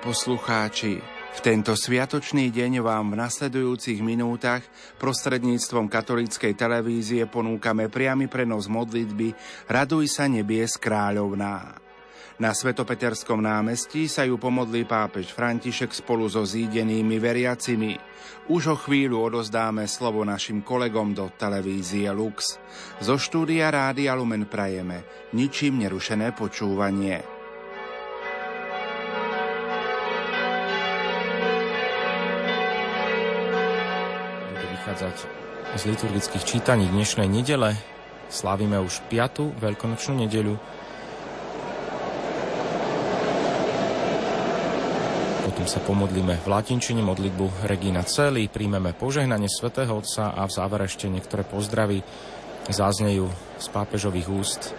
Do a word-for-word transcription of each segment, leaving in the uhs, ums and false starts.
poslucháči, v tento sviatočný deň vám v nasledujúcich minútach prostredníctvom katolíckej televízie ponúkame priamy prenos modlitby Raduj sa nebies kráľovná. Na Svetopeterskom námestí sa ju pomodlí pápež František spolu so zídenými veriacimi. Už o chvíľu odozdáme slovo našim kolegom do televízie Lux. Zo štúdia Rádia Lumen prajeme ničím nerušené počúvanie. Vychádzať z liturgických čítaní dnešnej nedele. Slávime už piatu veľkonočnú nedeľu. Potom sa pomodlíme v latinčine modlitbu Regina Coeli, príjmeme požehnanie svätého Otca a v závere ešte niektoré pozdravy zaznejú z pápežových úst.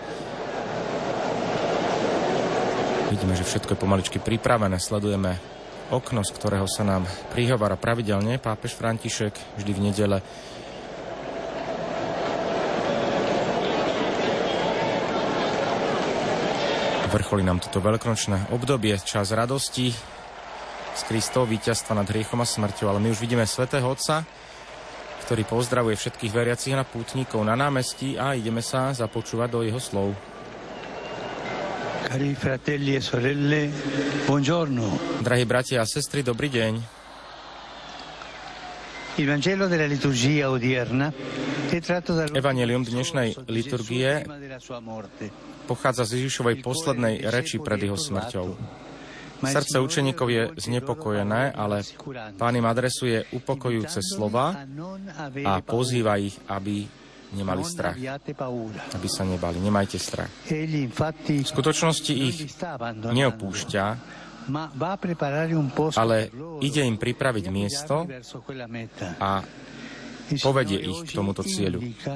Vidíme, že všetko je pomaličky pripravené, sledujeme okno, z ktorého sa nám prihovára pravidelne pápež František vždy v nedele. Vrcholí nám toto veľkonočné obdobie, čas radosti z Kristovho víťazstva nad hriechom a smrťou, ale my už vidíme svätého Otca, ktorý pozdravuje všetkých veriacich a pútnikov na námestí a ideme sa započúvať do jeho slov. Cari fratelli e sorelle, buongiorno. Drahí bratia a sestry, dobrý deň. Il Vangelo della liturgia odierna è tratto dal Evangelium dnešnej liturgie pochádza z Ježišovej poslednej reči pred jeho smrťou. Srdce učeníkov je znepokojené, ale Pán im adresuje upokojujúce slova a pozýva ich, aby nemali strach, aby sa nebali. Nemajte strach. V skutočnosti ich neopúšťa, ale ide im pripraviť miesto a povedie ich k tomuto cieľu.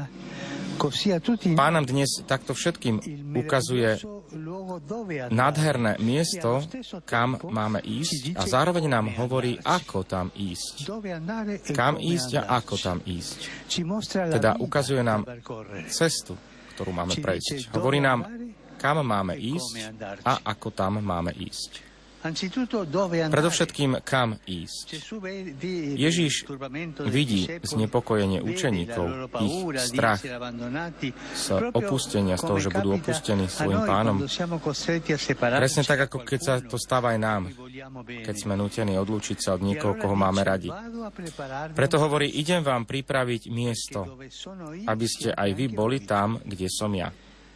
Pán nám dnes takto všetkým ukazuje nádherné miesto, kam máme ísť a zároveň nám hovorí, ako tam ísť. Kam ísť a ako tam ísť. Teda ukazuje nám cestu, ktorú máme prejsť. Hovorí nám, kam máme ísť a ako tam máme ísť. Predovšetkým, kam ísť. Ježiš vidí znepokojenie učeníkov, ich strach z opustenia, z toho, že budú opustení svojim Pánom. Presne tak, ako keď sa to stáva aj nám, keď sme nútení odlúčiť sa od niekoho, koho máme radi. Preto hovorí, idem vám pripraviť miesto, aby ste aj vy boli tam, kde som ja.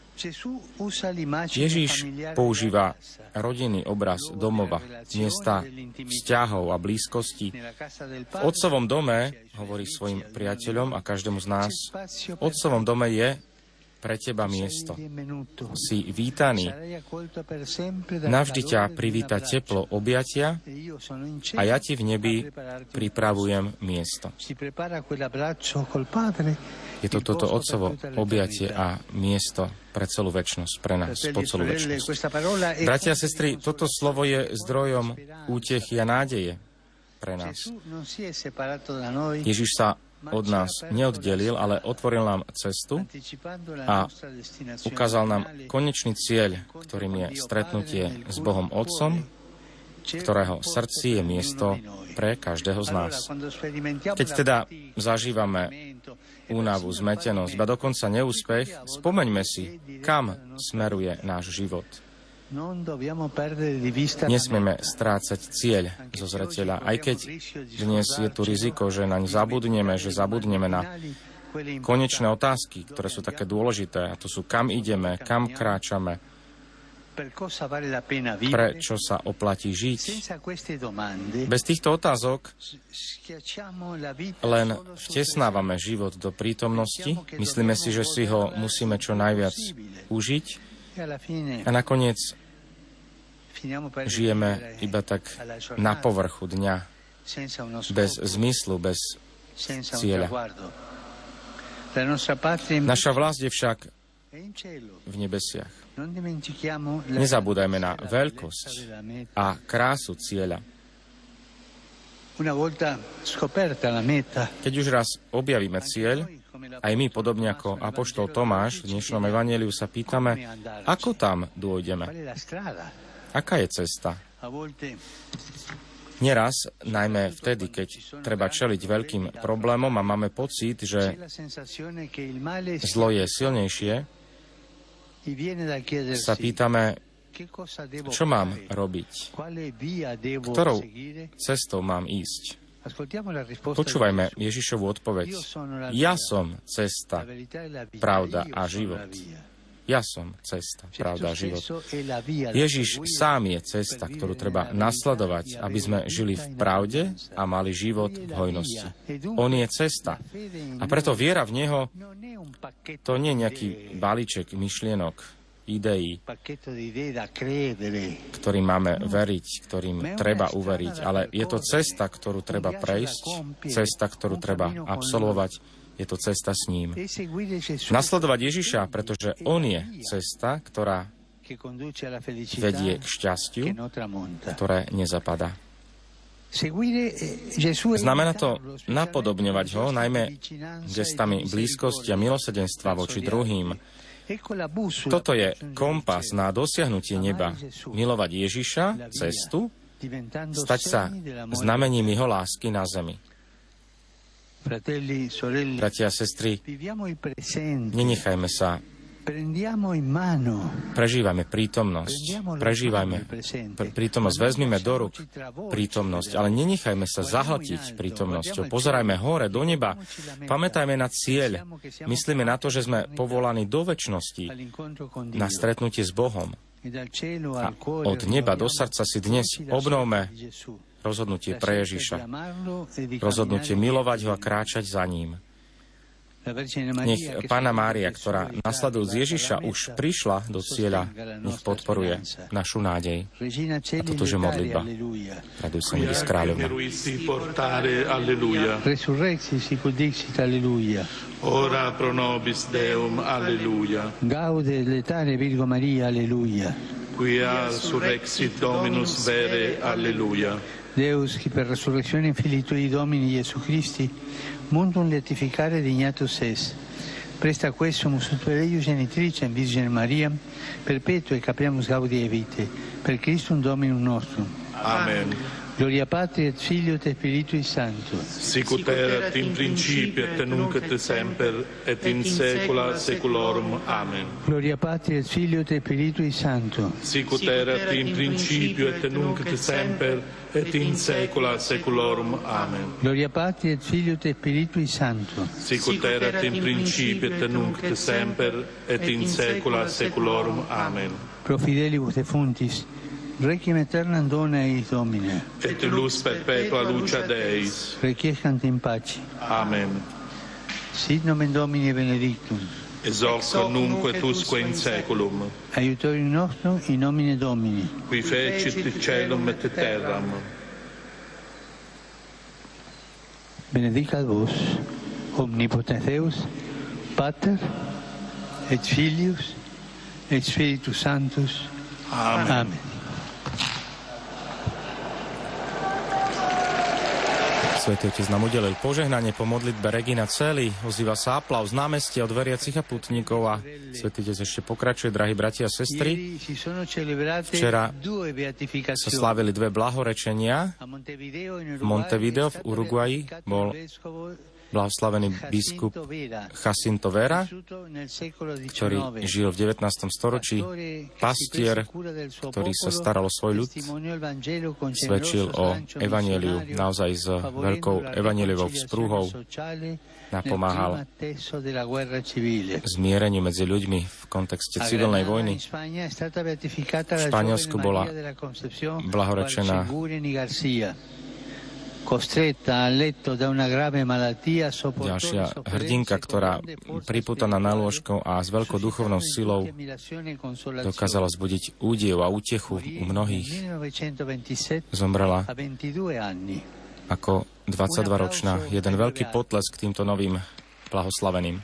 Ježiš používa rodinný obraz domova, miesta vzťahov a blízkosti. V Otcovom dome, hovorí svojim priateľom a každému z nás, v Otcovom dome je pre teba miesto. Si vítaný. Navždy ťa privíta teplo objatia a ja ti v nebi pripravujem miesto. Je to toto Otcovo objatie a miesto pre celú večnosť, pre nás, po celú večnosť. Bratia a sestry, toto slovo je zdrojom útechy a nádeje pre nás. Ježiš sa od nás neoddelil, ale otvoril nám cestu a ukázal nám konečný cieľ, ktorým je stretnutie s Bohom Otcom, ktorého srdci je miesto pre každého z nás. Keď teda zažívame únavu, zmetenosť, ba dokonca neúspech, spomeňme si, kam smeruje náš život. Nesmieme strácať cieľ zo zreteľa, aj keď dnes je tu riziko, že naň zabudneme, že zabudneme na konečné otázky, ktoré sú také dôležité, a to sú, kam ideme, kam kráčame, prečo sa oplatí žiť. Bez týchto otázok len vtesnávame život do prítomnosti, myslíme si, že si ho musíme čo najviac užiť a nakoniec žijeme iba tak na povrchu dňa, bez zmyslu, bez cieľa. Naša vlast je však v nebesiach. Nezabúdajme na veľkosť a krásu cieľa. Keď už raz objavíme cieľ, aj my, podobne ako apoštol Tomáš v dnešnom evanjeliu, sa pýtame, ako tam dôjdeme. Aká je cesta? Neraz, najmä vtedy, keď treba čeliť veľkým problémom a máme pocit, že zlo je silnejšie, sa pýtame, čo mám robiť, ktorou cestou mám ísť. Počúvajme Ježišovu odpoveď. Ja som cesta, pravda a život. Ja som cesta, pravda a život. Ježiš sám je cesta, ktorú treba nasledovať, aby sme žili v pravde a mali život v hojnosti. On je cesta. A preto viera v Neho, to nie je nejaký balíček myšlienok, ideí, ktorým máme veriť, ktorým treba uveriť, ale je to cesta, ktorú treba prejsť, cesta, ktorú treba absolvovať, je to cesta s ním. Nasledovať Ježiša, pretože on je cesta, ktorá vedie k šťastiu, ktoré nezapadá. Znamená to napodobňovať ho, najmä gestami blízkosti a milosrdenstva voči druhým. Toto je kompas na dosiahnutie neba. Milovať Ježiša, cestu, stať sa znamením jeho lásky na zemi. Bratia a sestry, nenechajme sa, prežívajme prítomnosť, prežívajme pr- prítomnosť, vezmime do rúk prítomnosť, ale nenechajme sa zahltiť prítomnosťou. Pozerajme hore, do neba, pamätajme na cieľ, myslíme na to, že sme povolaní do večnosti na stretnutie s Bohom. A od neba do srdca si dnes obnovme rozhodnutie pre Ježiša, rozhodnutie milovať ho a kráčať za ním. Nech Panna Mária, ktorá nasledujúc Ježiša už prišla do cieľa, nech podporuje našu nádej. A toto je modlitba. Raduj sa, milý kráľovna. Resurrexi sicut dixit, alleluia. Ora pro nobis Deum, alleluia. Gaude letare Virgo Maria, alleluia. Quia surrexit Dominus vere, alleluia. Deus, qui per resurrezione Filii Tui Domini Iesu Christi, mundum letificare dignatus es. Presta quesum ut Deo genitricem Virgine Maria, perpetua e capriamus gaudie vitae, per Christum Dominum nostrum. Amen. Gloria Patri et Filio et Spiritui Sancto. Sicut erat in principio et nunc et semper et in saecula saeculorum. Amen. Gloria Patri et Filio et Spiritui Sancto. Sicut erat in principio et nunc et semper et in saecula saeculorum. Amen. Gloria Patri et Filio et Spiritui Sancto. Sicut erat in principio et nunc et semper et in saecula saeculorum. Amen. Pro fidelibus defuntis, Requiem aeternam dona eis Domine. Et lux perpetua lucia Deis. Requiescant in pace. Amen. Sit nomen Domini benedictum. Ex hoc nunc et usque in saeculum. Aiutorium nostrum in nomine Domini. Qui fecit caelum et terram. Benedicat vos, omnipotens Deus, Pater, et Filius, et Spiritus Sanctus. Amen. Amen. Svätý Otec nám udelil požehnanie po modlitbe Regina Coeli. Ozýva sa aplauz z námestia od veriacich a putníkov a Svätý Otec ešte pokračuje, drahí bratia a sestry. Včera sa slávili dve blahorečenia. V Montevideo v Uruguayi bol blahoslavený biskup Jacinto Vera, ktorý žil v devätnástom storočí, pastier, ktorý sa staral o svoj ľud, svedčil o evanjeliu naozaj s veľkou evanjeliovou vzprúhou, napomáhal zmiereniu medzi ľuďmi v kontexte civilnej vojny. V Španielsku bola blahorečená ďalšia hrdinka, ktorá pripútaná na lôžko a s veľkou duchovnou silou dokázala zbudiť údiv a útechu u mnohých. Zomrela ako dvadsaťdvaročná. Jeden veľký potlesk týmto novým blahoslaveným.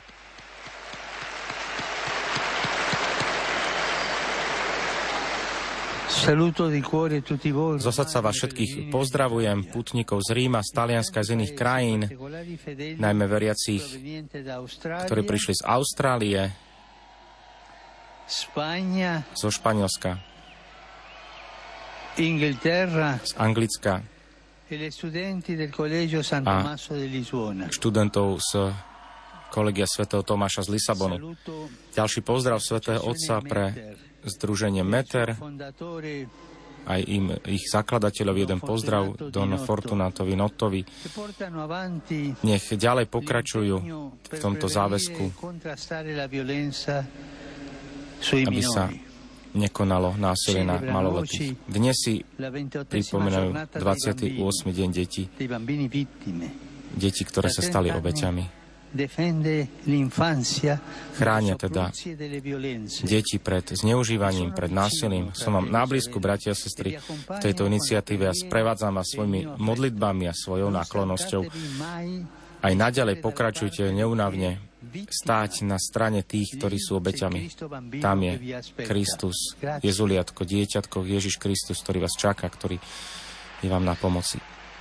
Zo srdca vás všetkých pozdravujem, putníkov z Ríma, z Talianska, z iných krajín, najmä veriacich, ktorí prišli z Austrálie, zo Španielska, Inghilterra z Anglicka e le studenti del Collegio San a Tommaso di Lisbona. študentov z Kolegia svätého Tomáša z Lisabonu. Ďalší pozdrav svätého Otca pre združenie Meter, aj im, ich zakladateľov jeden pozdrav, Don Fortunatovi Nottovi. Nech ďalej pokračujú v tomto záväzku, aby sa nekonalo násilie na maloletých. Dnes si pripomínajú dvadsiaty ôsmy deň detí, deti, ktoré sa stali obeťami. Chránia teda deti pred zneužívaním, pred násilím. Som vám náblízku, bratia a sestry, v tejto iniciatíve a sprevádzam vás svojimi modlitbami a svojou náklonnosťou. Aj naďalej pokračujte neúnavne stáť na strane tých, ktorí sú obeťami. Tam je Kristus, Jezuliatko, dieťatko, Ježiš Kristus, ktorý vás čaká, ktorý je vám na pomoci.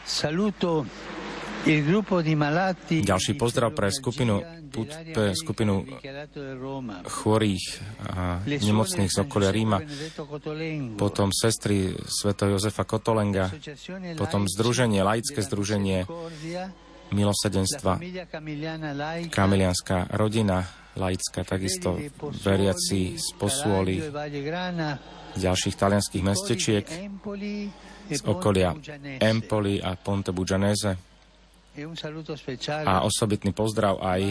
Ďalší pozdrav pre skupinu, pre skupinu chorých a nemocných z okolia Ríma, potom sestry svätého Jozefa Kotolenga, potom združenie, laické združenie milosrdenstva, Kamilianská rodina, laická, takisto veriaci z Posuoli, ďalších talianských mestečiek z okolia Empoli a Ponte Bugianese. A osobitný pozdrav aj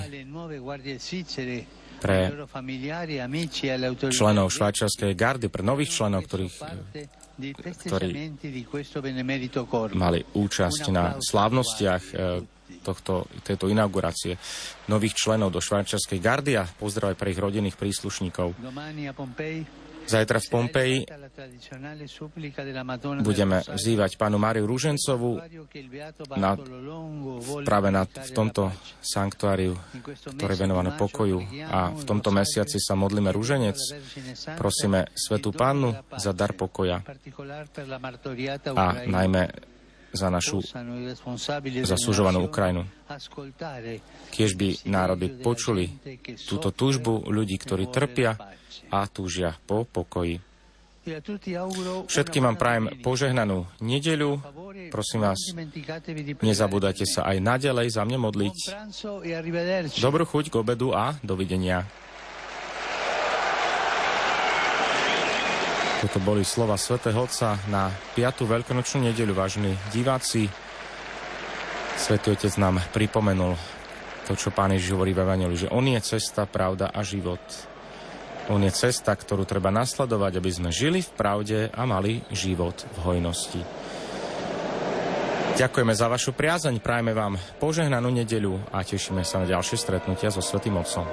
pre členov švajčiarskej gardy, pre nových členov, ktorých, ktorí mali účasť na slávnostiach tohto, tejto inaugurácie nových členov do švajčiarskej gardy a pozdrav aj pre ich rodinných príslušníkov. Zajtra v Pompeji budeme vzývať pánu Máriu Rúžencovú na, práve na, v tomto sanktuáriu, ktoré je venované pokoju. A v tomto mesiaci sa modlíme rúženec. Prosíme Svätú Pannu za dar pokoja a najmä za našu zasúžovanú Ukrajinu. Kiež by národy počuli túto túžbu ľudí, ktorí trpia a túžia po pokoji. Všetkým vám prajem požehnanú nedeľu. Prosím vás, nezabúdajte sa aj naďalej za mňa modliť. Dobrú chuť k obedu a dovidenia. Toto boli slova svätého Otca na piatu veľkonočnú nedeľu, vážení diváci. Svätý Otec nám pripomenul to, čo Pán Ježiš hovorí v Evanjeliu, že On je cesta, pravda a život. On je cesta, ktorú treba nasledovať, aby sme žili v pravde a mali život v hojnosti. Ďakujeme za vašu priazeň, prajeme vám požehnanú nedeľu a tešíme sa na ďalšie stretnutia so Svätým Otcom.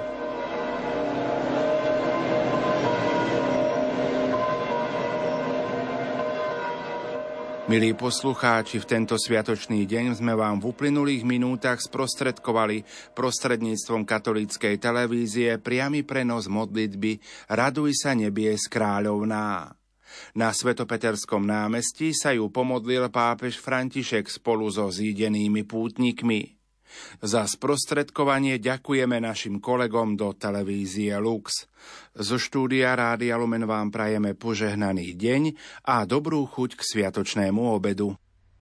Milí poslucháči, v tento sviatočný deň sme vám v uplynulých minútach sprostredkovali prostredníctvom katolíckej televízie priamy prenos modlitby Raduj sa nebies kráľovná. Na Svetopeterskom námestí sa ju pomodlil pápež František spolu so zídenými pútnikmi. Za sprostredkovanie ďakujeme našim kolegom do televízie Lux. Zo štúdia Rádia Lumen vám prajeme požehnaný deň a dobrú chuť k sviatočnému obedu.